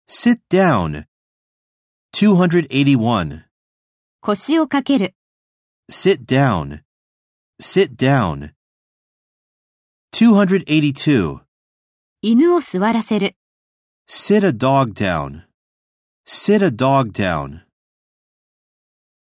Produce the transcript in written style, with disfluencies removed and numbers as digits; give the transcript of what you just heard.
Sit down. 281. 腰をかける。 Sit down. Sit down. 282. 犬を座らせる。 Sit a dog down. Sit a dog down.